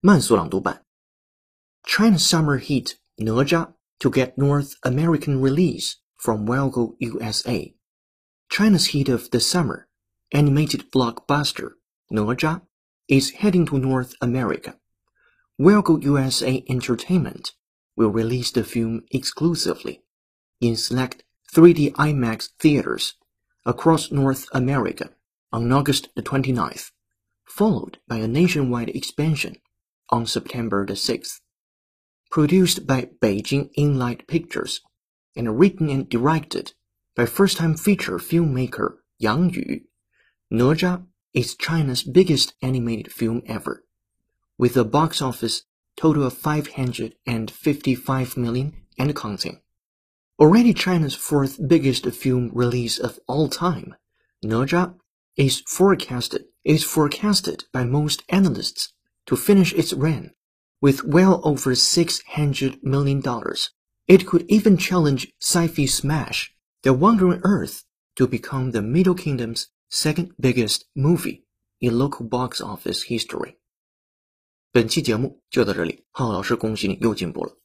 慢速朗读版 China's summer hit哪吒 to get North American release from Welgo USA. China's hit of the summer, animated blockbuster哪吒, is heading to North America. Welgo USA Entertainment will release the film exclusively in select 3D IMAX theaters across North America on August the 29th, followed by a nationwide expansion on September the 6th. Produced by Beijing Inlight Pictures and written and directed by first-time feature filmmaker Yang Yu,哪吒is China's biggest animated film ever, with a box office total of 555 million and counting. Already China's fourth biggest film release of all time,哪吒is forecasted by most analysts to finish its run with well over $600 million. It could even challenge sci-fi smash The Wandering Earth to become the Middle Kingdom's second biggest movie in local box office history. 本期节目就到这里，浩浩老师恭喜你又进步了。